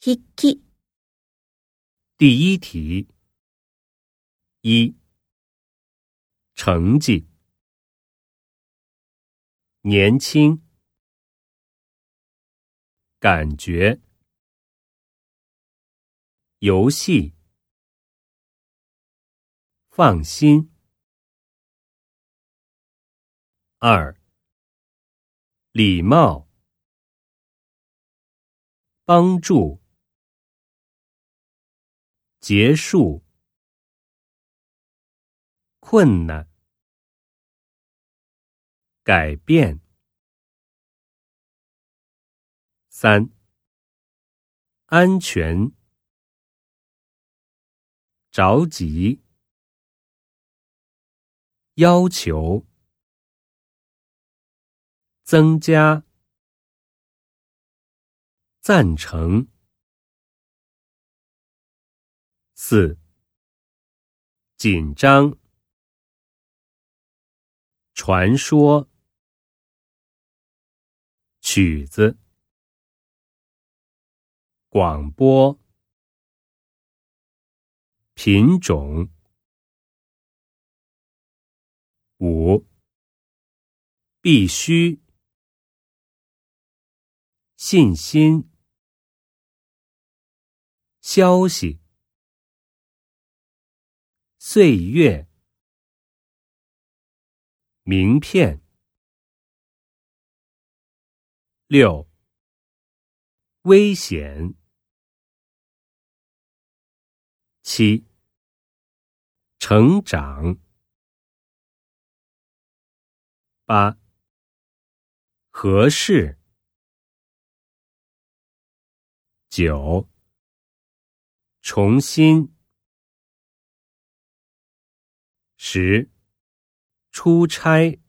筆記。 第一题。一、成绩。年轻。感觉。游戏。放心。二、礼貌。帮助。结束。困难。改变。三、安全。着急。要求。增加。赞成。四、紧张。传说。曲子。广播。品种。五、必须。信心。消息。岁月。名片。六、危险。七、成长。八、合适。九、重新。十、出差。